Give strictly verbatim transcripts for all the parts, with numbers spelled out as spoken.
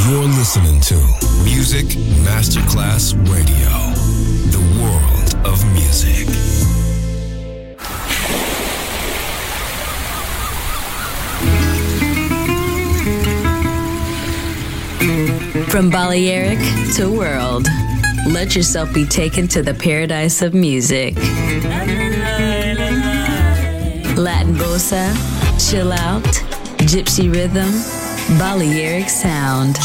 You're listening to Music Masterclass Radio, the world of music. From Balearic to world, let yourself be taken to the paradise of music. Latin bossa, chill out, gypsy rhythm, Balearic sound,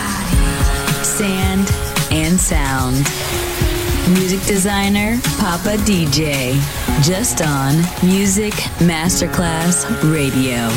sand and sound. Music designer, Papa D J, just on Music Masterclass Radio.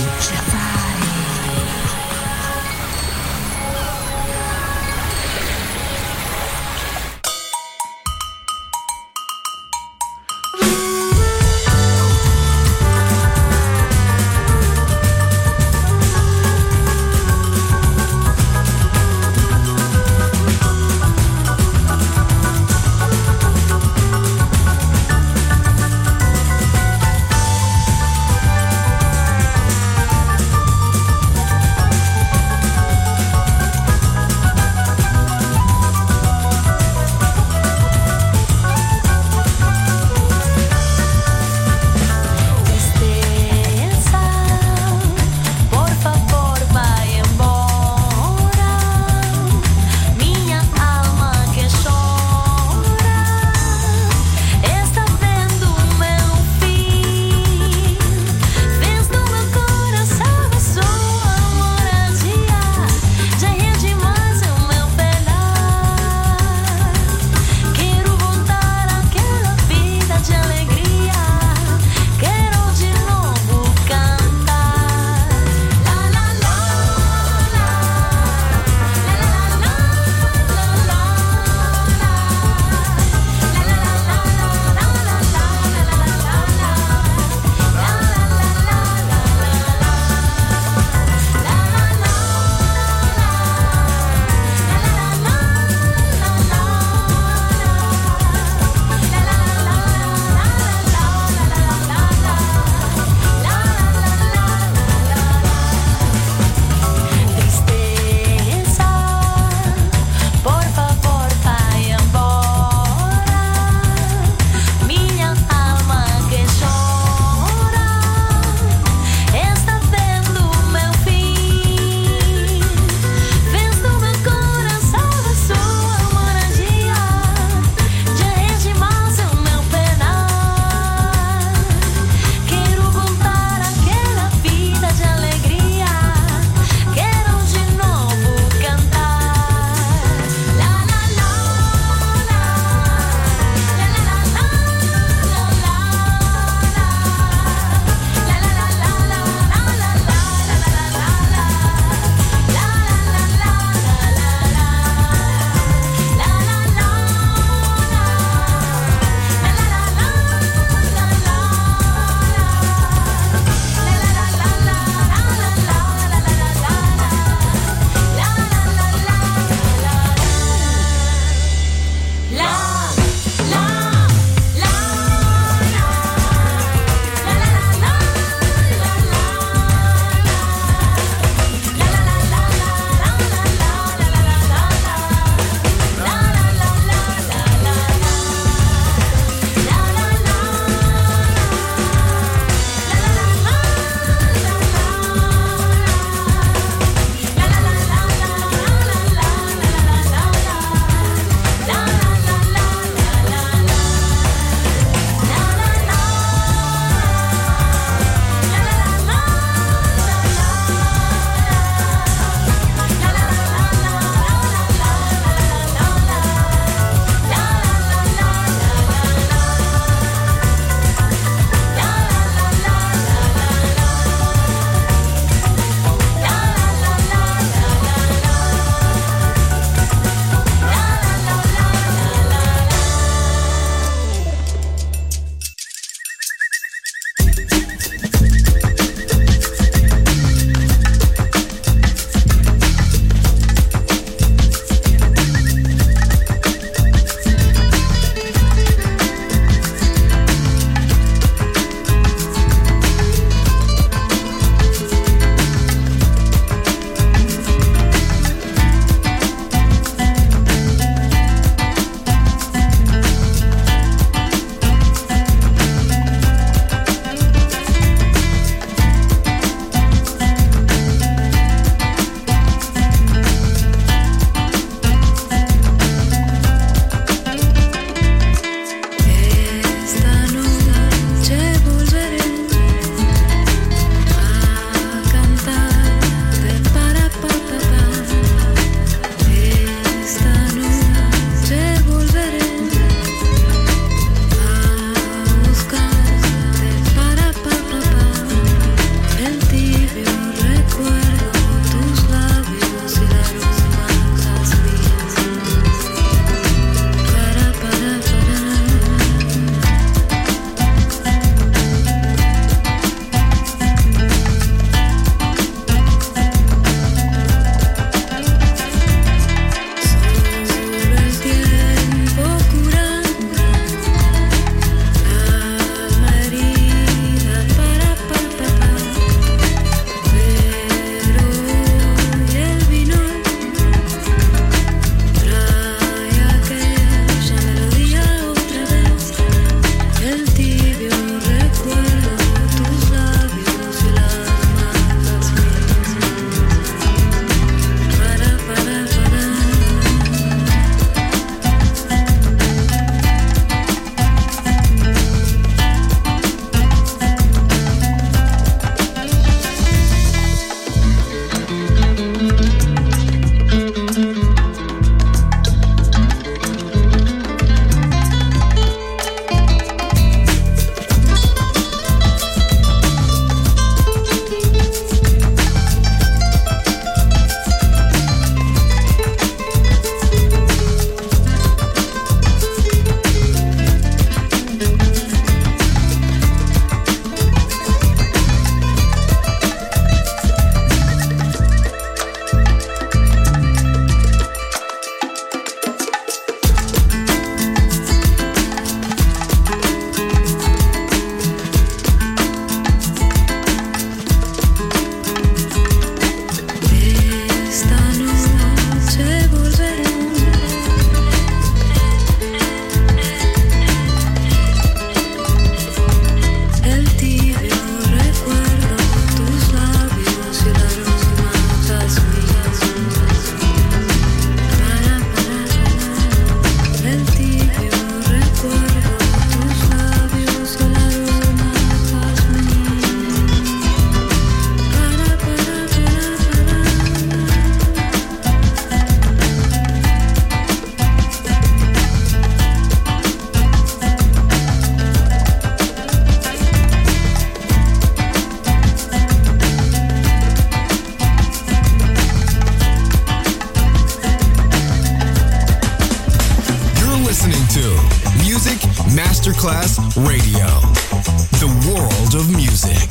Masterclass Radio. The world of music.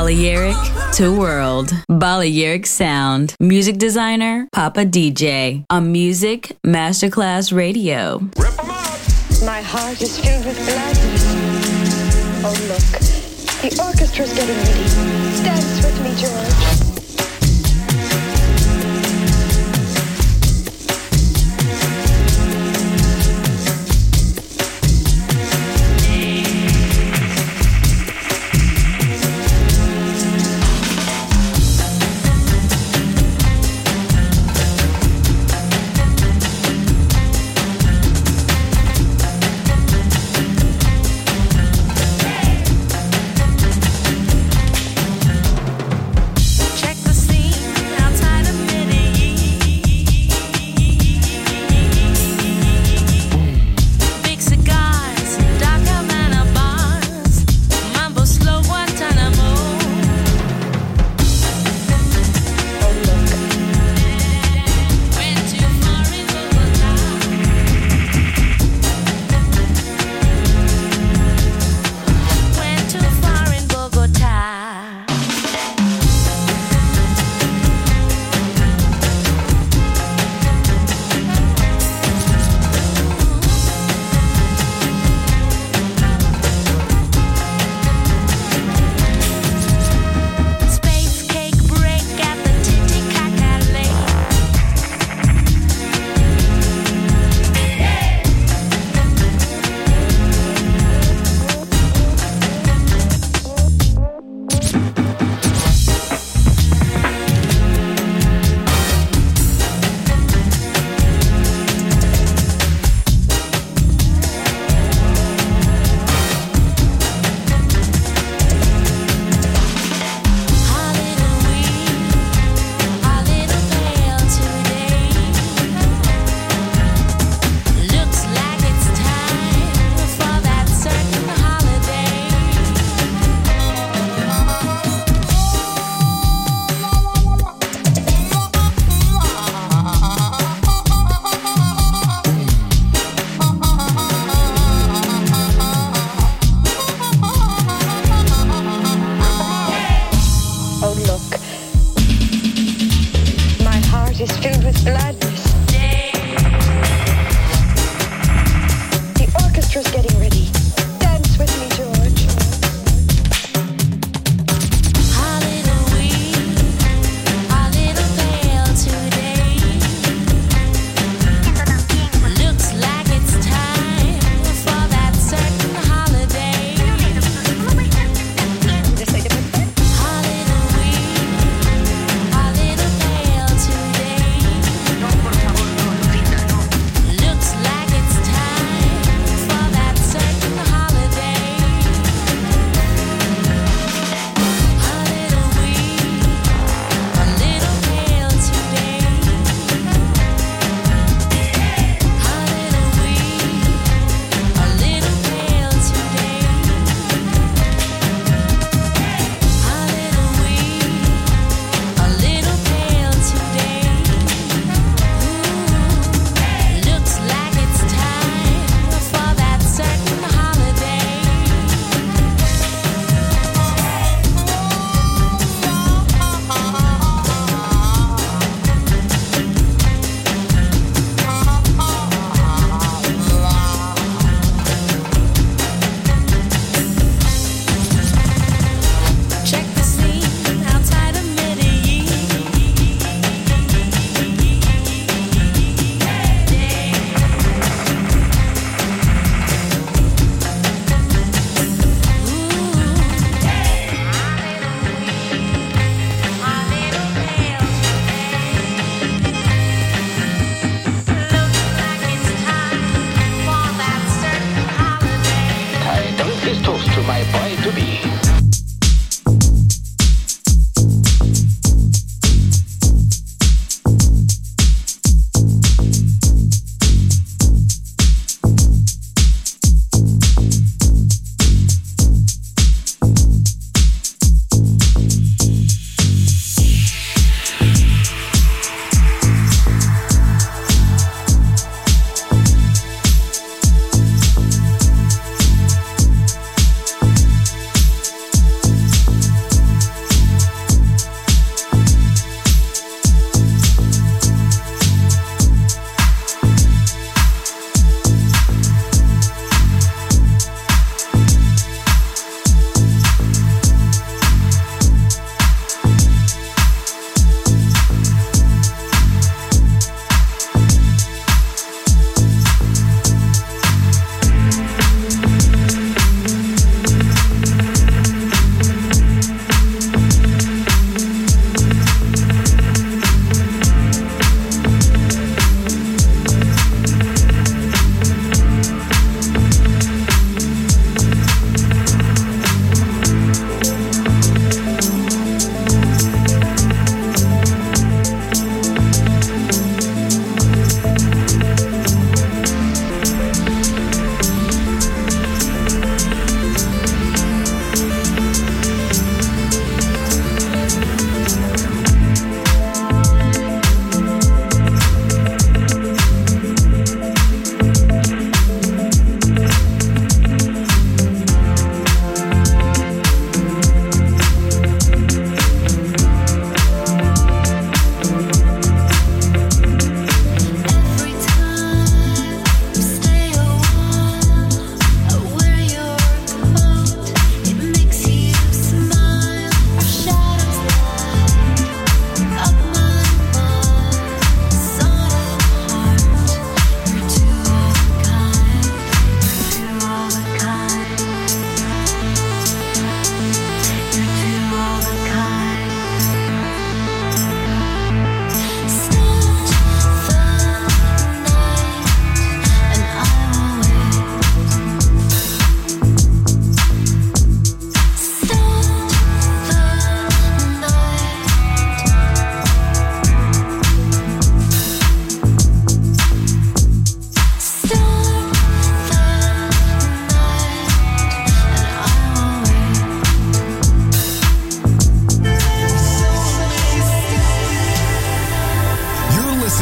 Balearic to world. Balearic sound. Music designer, Papa D J. On Music Masterclass Radio. My heart is filled with gladness. Oh, look. The orchestra's getting ready. Dance with me, George.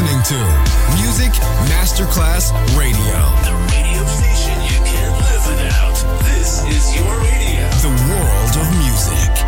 listening to Music Masterclass Radio. The radio station you can't live without. This is your radio. The world of music.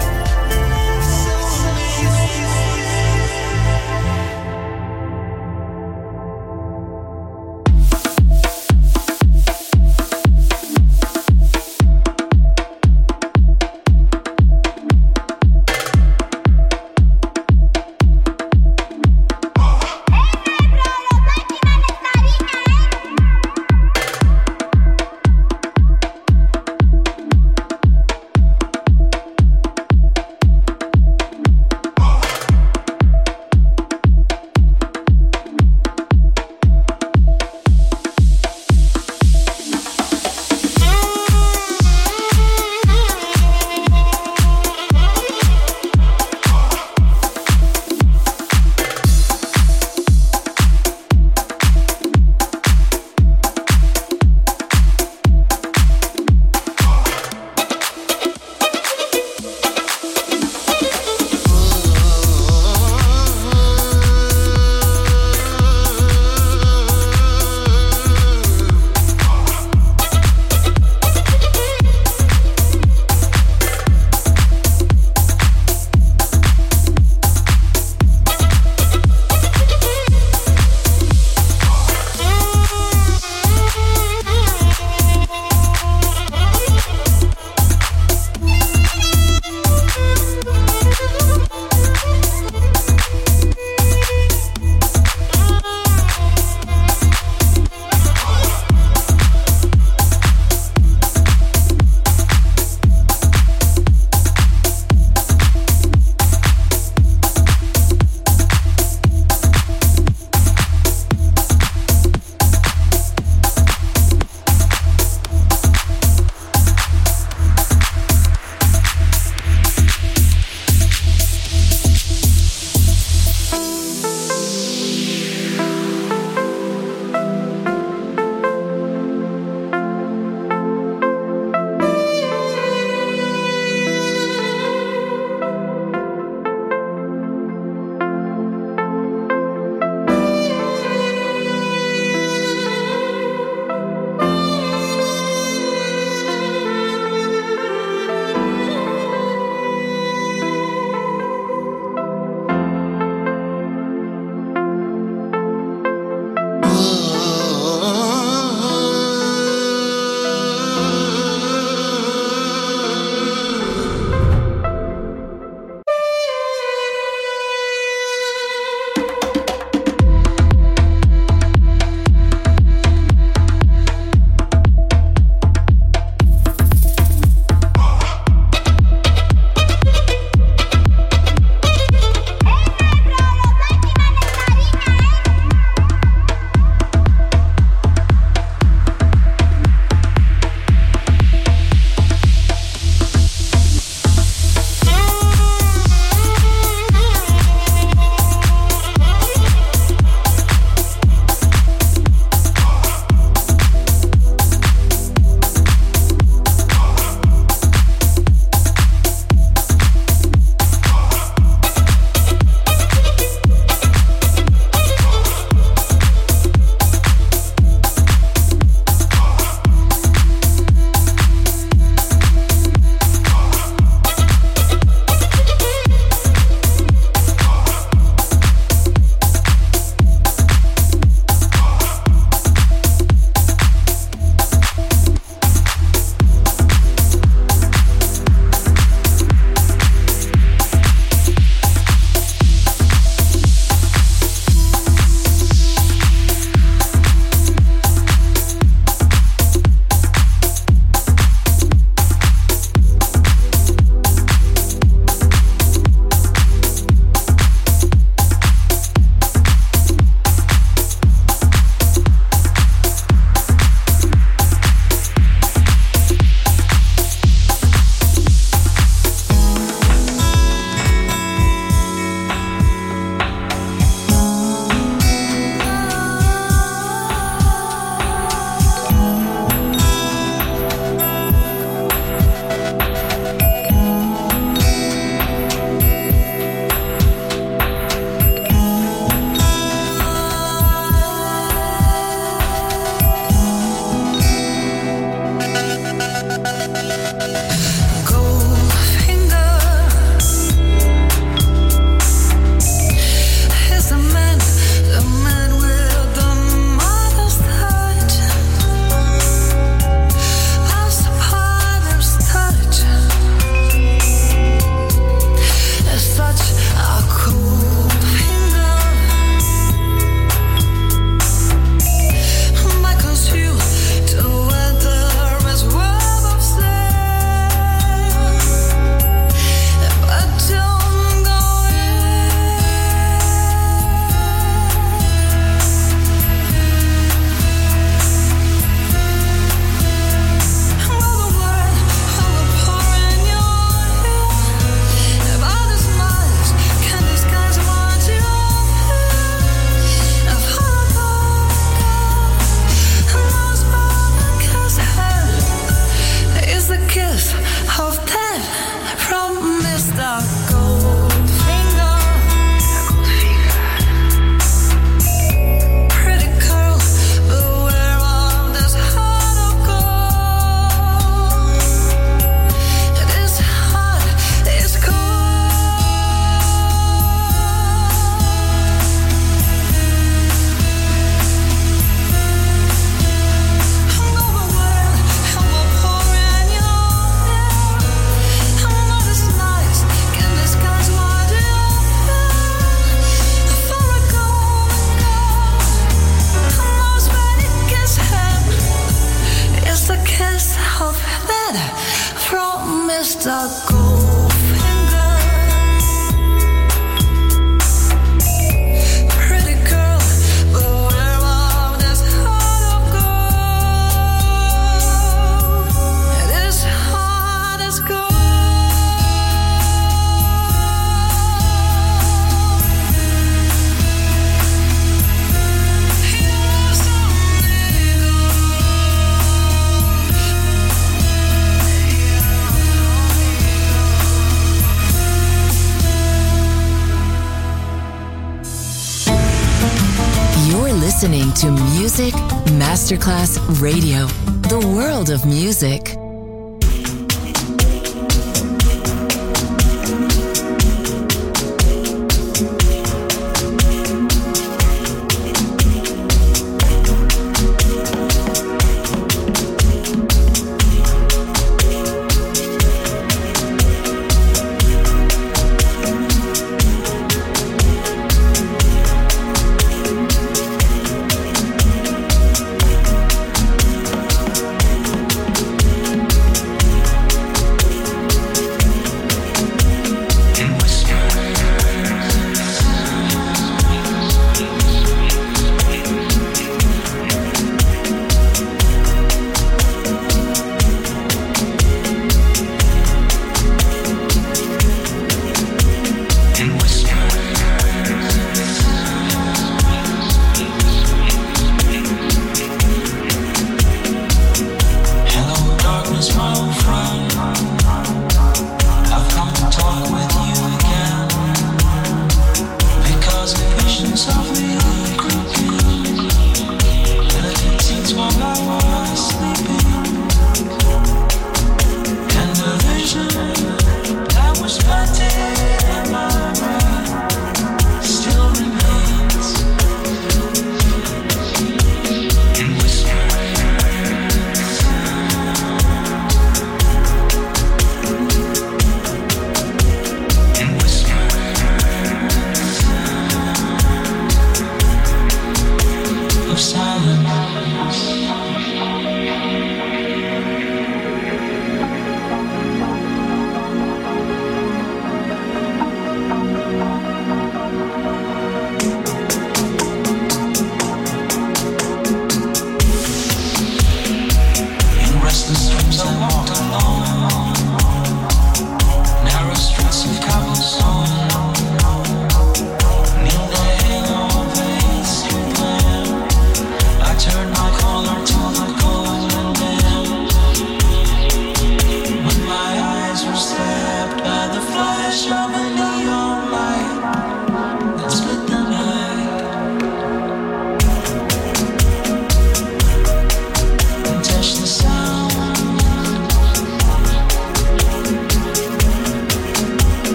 Listening to Music Masterclass Radio, the world of music.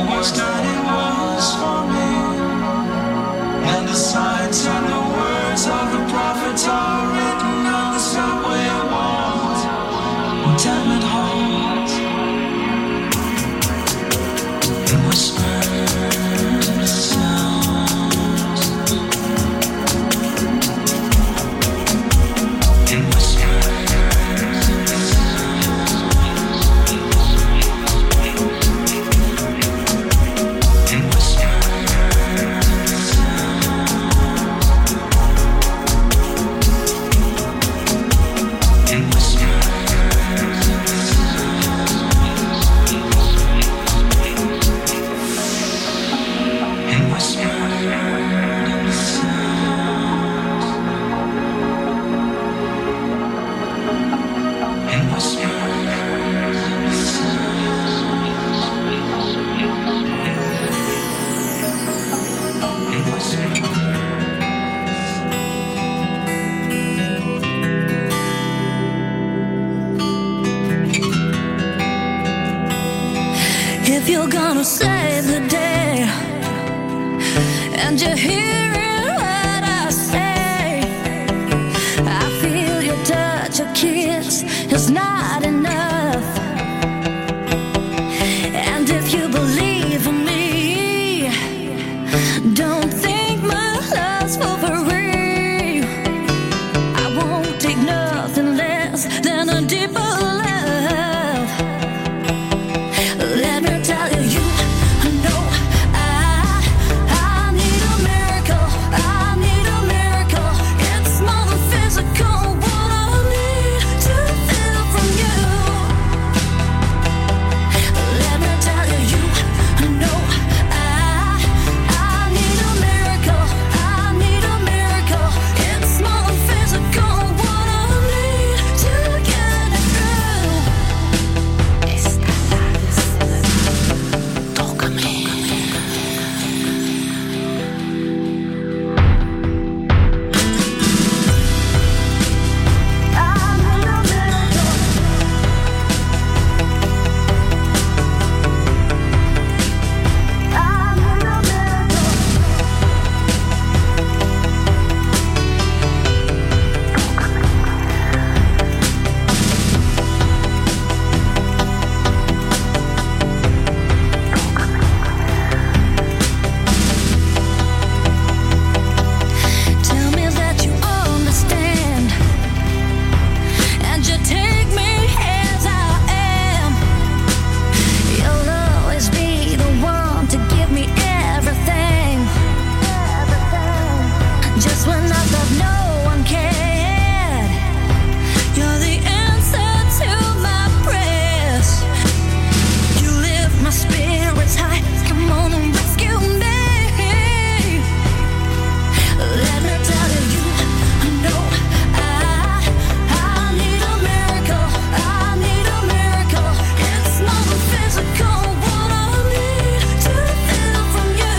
And the signs and the words If you're gonna save the day and you're hearing what I say, I feel your touch, your kiss is not enough. And if you believe in me, don't think my love's for free. I won't take nothing less than a deeper love. Let me tell you, you know I, I need a miracle. I need a miracle. It's more than physical. What I need to feel from you. Let me tell you, you know I, I need a miracle. I need a miracle. It's more than physical. What I need to get it through. Tócame. I need a miracle. I need a miracle. Tell me that you understand, and you take me as I am. You'll always be the one to give me everything. Just when I thought no one cared, you're the answer to my prayers. You lift my spirits high. Come on and rescue me. Let me tell you, you know I, I need a miracle. I need a miracle. It's more than physical. What I need to feel from you.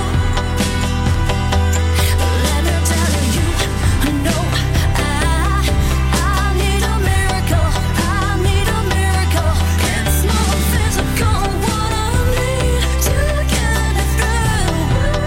Let me tell you, you know I, I need a miracle. I need a miracle. It's more than physical. What I need to get it through.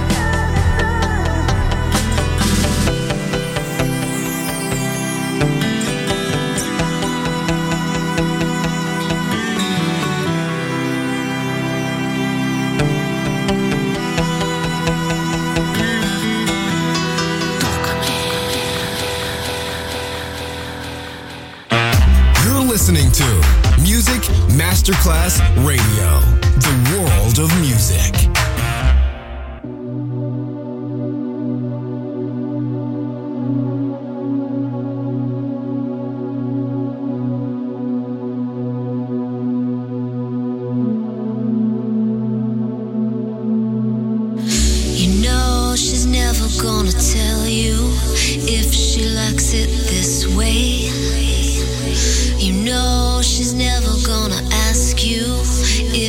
You're listening to Music Masterclass Radio, the world of music. You know she's never gonna tell you if she likes it this way. You know she's never gonna ask you if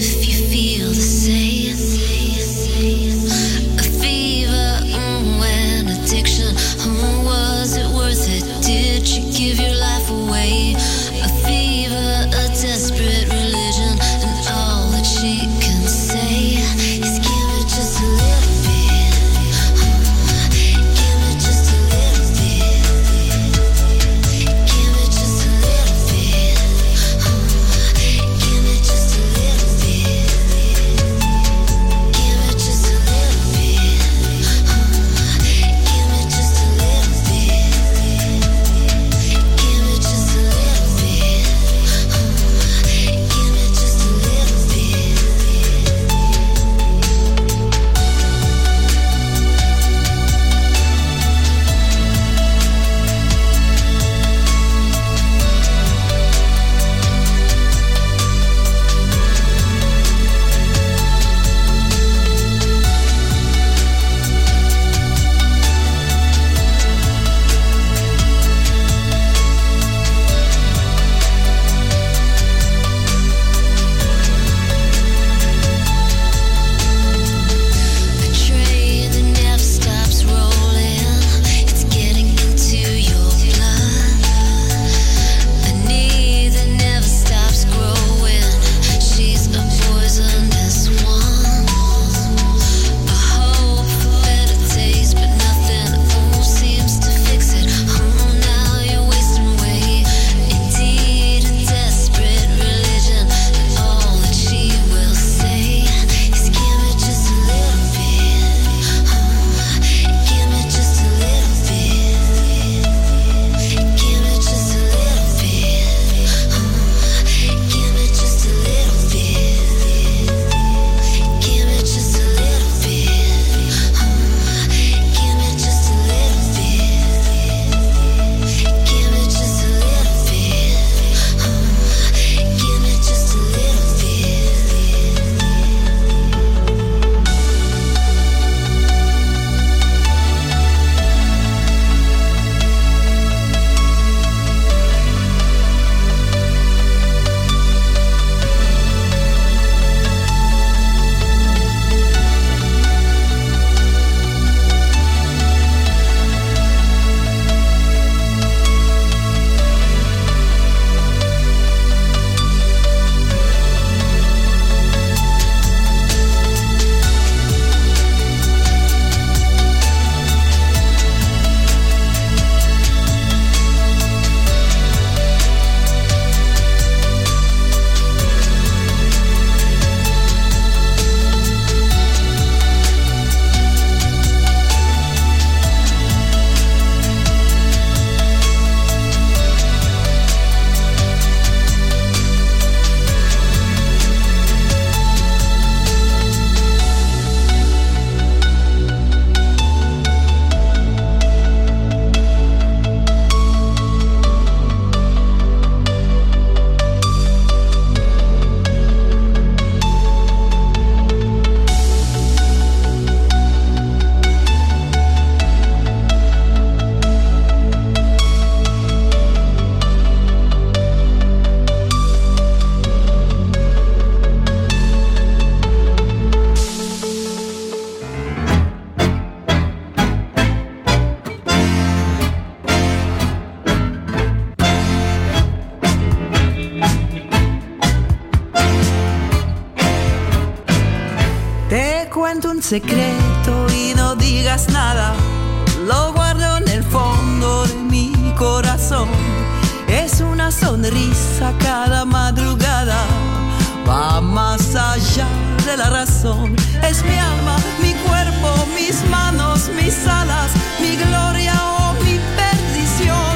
cuento un secreto y no digas nada. Lo guardo en el fondo de mi corazón. Es una sonrisa cada madrugada. Va más allá de la razón. Es mi alma, mi cuerpo, mis manos, mis alas, mi gloria o mi perdición.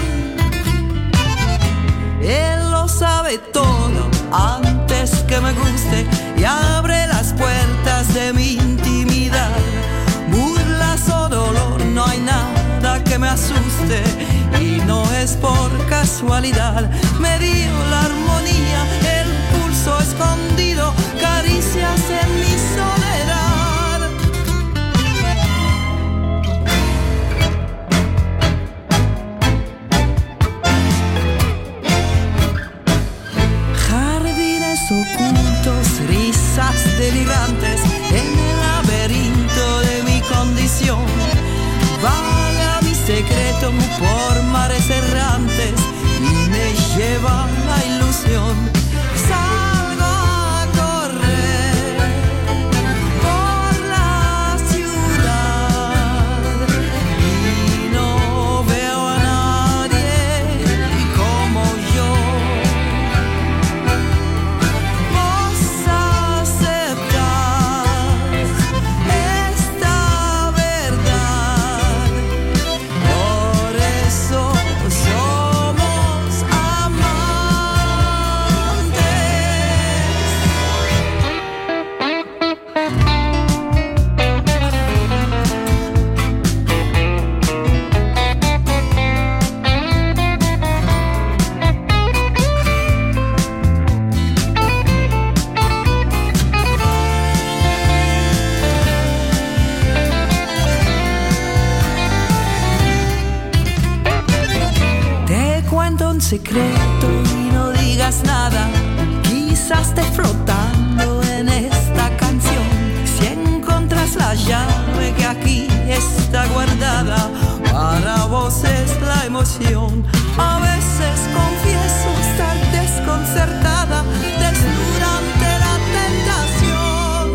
Él lo sabe todo antes que me guste y abre las puertas de mi intimidad. Burlas o dolor, no hay nada que me asuste y no es por casualidad. Me dio la armonía, el pulso escondido, caricias en mi soledad. Jardines ocultos, risas delirantes en el laberinto de mi condición. Vaga mi secreto por mares errantes y me lleva la ilusión. Salgo a correr por la ciudad y no veo a nadie como yo. Vos aceptás esta verdad, por eso somos amantes. Te cuento un secreto y no digas nada. Quizás esté flotando en esta canción. Si encontras la llave que aquí está guardada, para vos es la emoción. A veces confieso estar desconcertada, desnuda ante la tentación.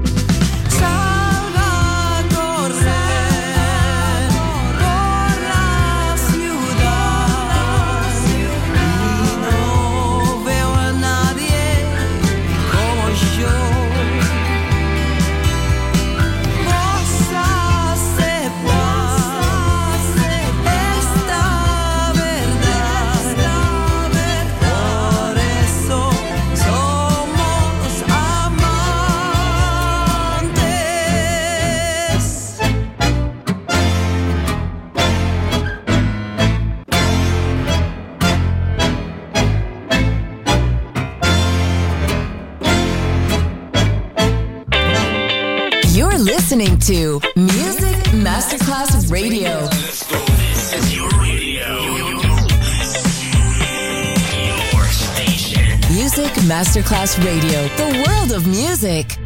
Salga a correr por la ciudad y no veo a nadie como yo. Vos aceptás esta verdad, por eso somos amantes. You're listening to Music Masterclass Radio. Let's go. This is your radio. Your station. Music Masterclass Radio, the world of music.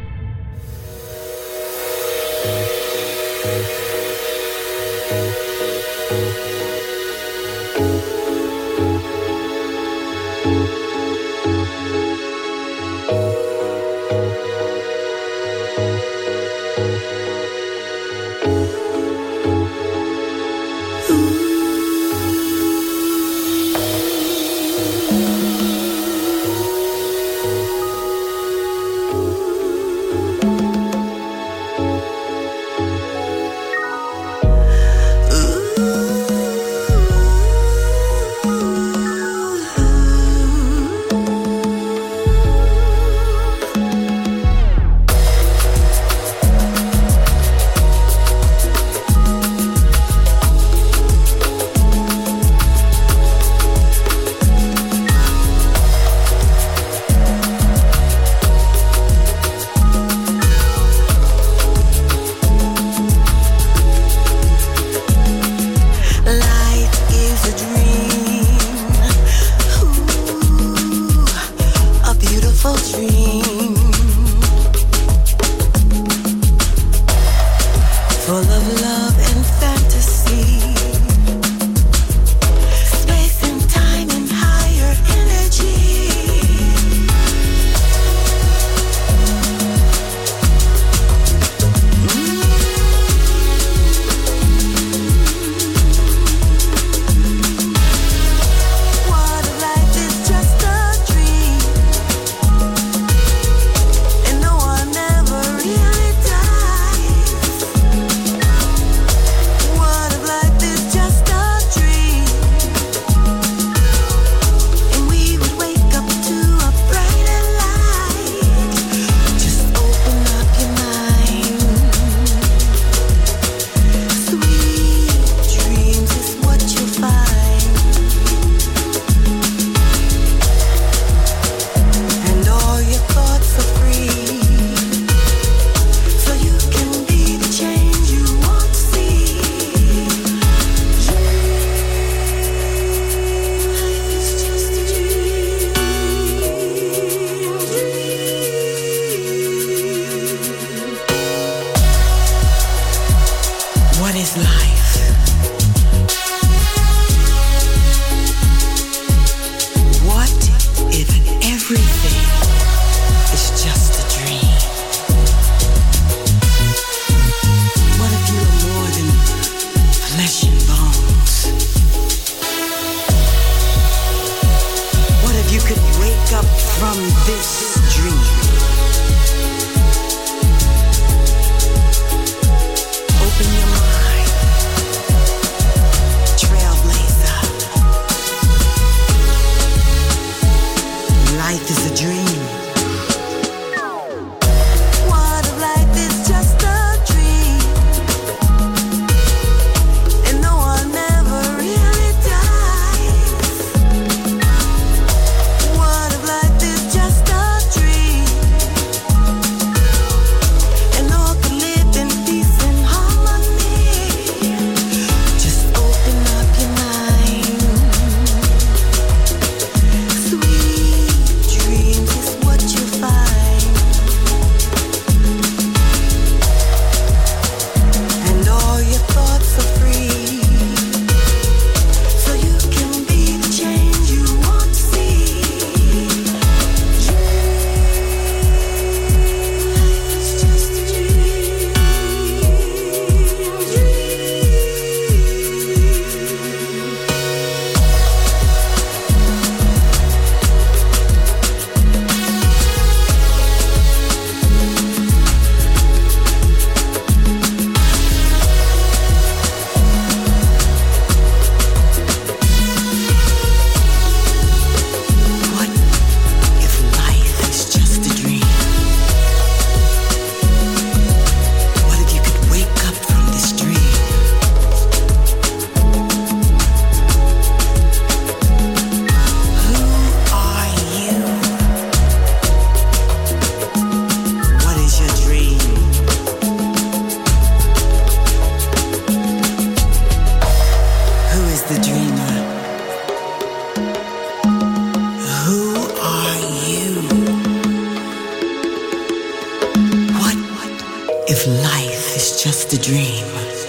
if life is just a dream?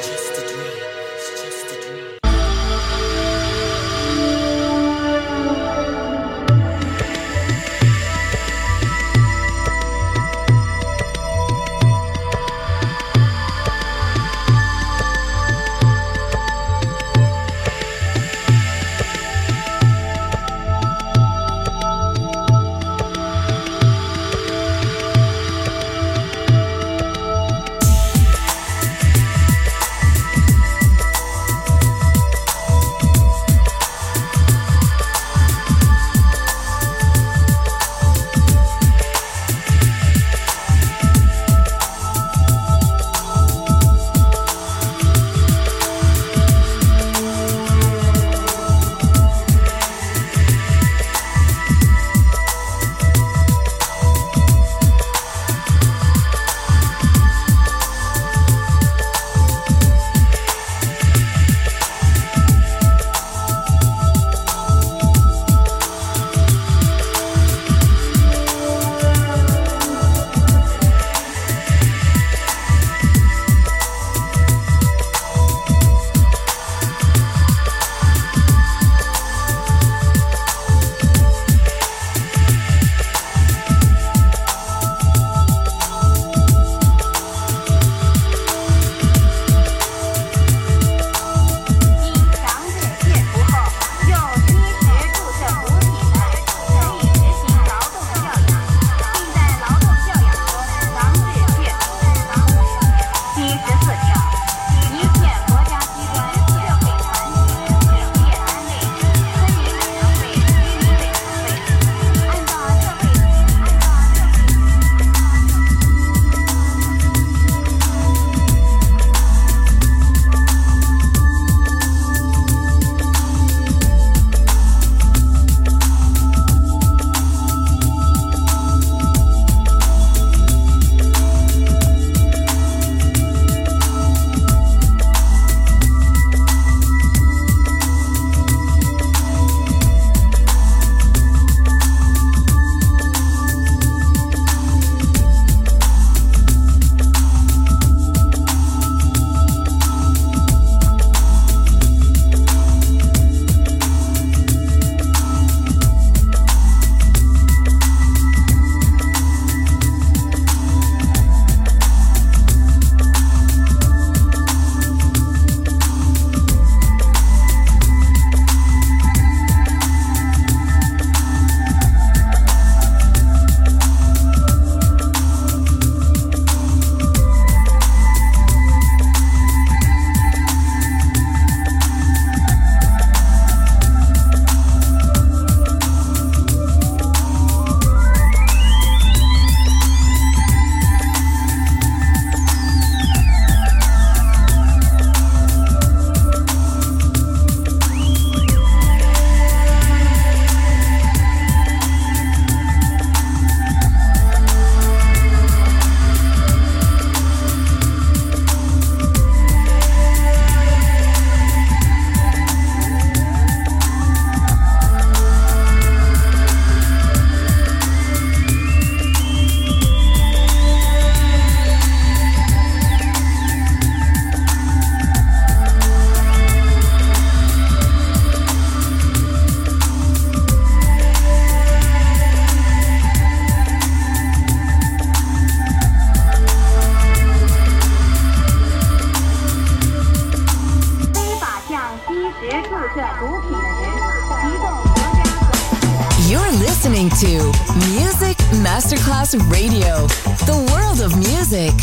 You're listening to Music Masterclass Radio, the world of music.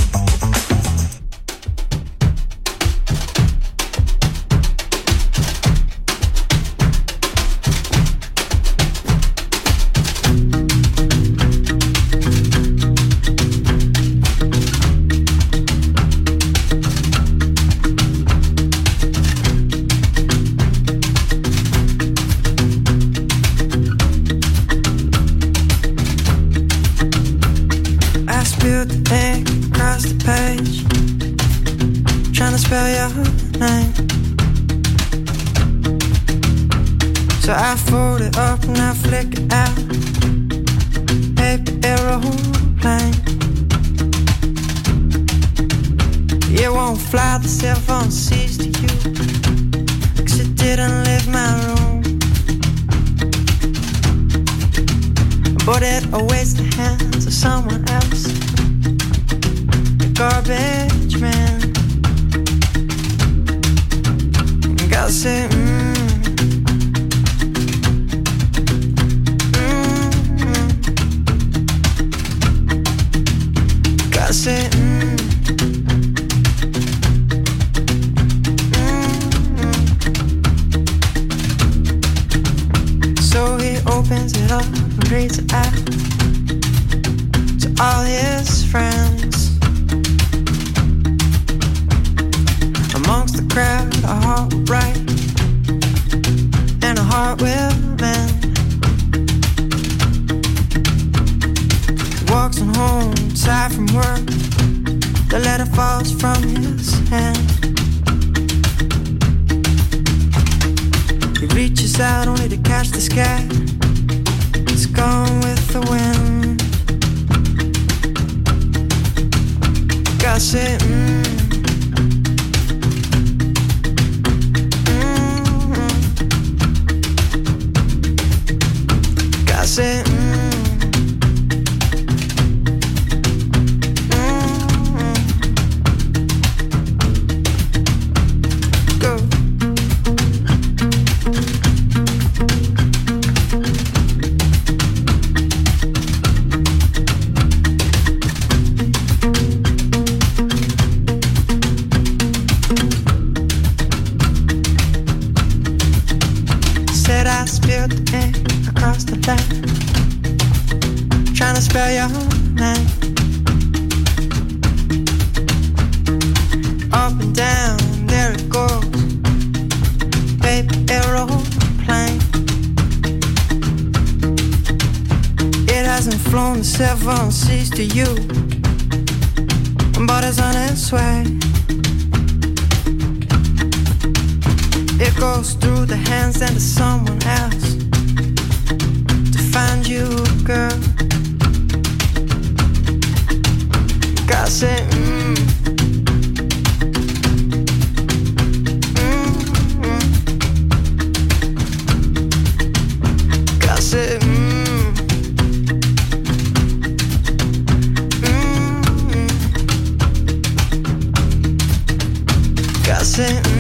So I fold it up and I flick it out. Paper aeroplane. won't fly the seven seas to you, 'cause you didn't leave my room, but it awaits the hands of someone else, the garbage man. Gotta say, mm, mm, mm. Gotta say, mm, mm, mm. So he opens it up and reads it out to all his friends. Amongst the crowd, a heart will bright and a heart will mend. He walks on home, tired from work. The letter falls from his hand. He reaches out only to catch the sky. It's gone with the wind. Gotta say, mm. I say, mm, mm, go. Said I spilled the ink across the land, trying to spell your name. Up and down, there it goes, baby aeroplane. It hasn't flown the seven seas to you, but it's on its way. It goes through the hands and to someone else to find you, girl. Gotta say, mm, mm, mm. Gotta say, mm, mm, mm. Gotta say, mm.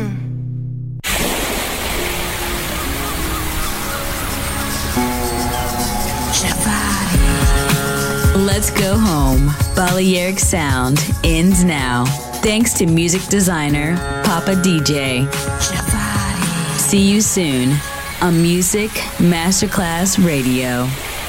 Let's go home. Balearic Sound ends now. Thanks to music designer Papa D J. See you soon on Music Masterclass Radio.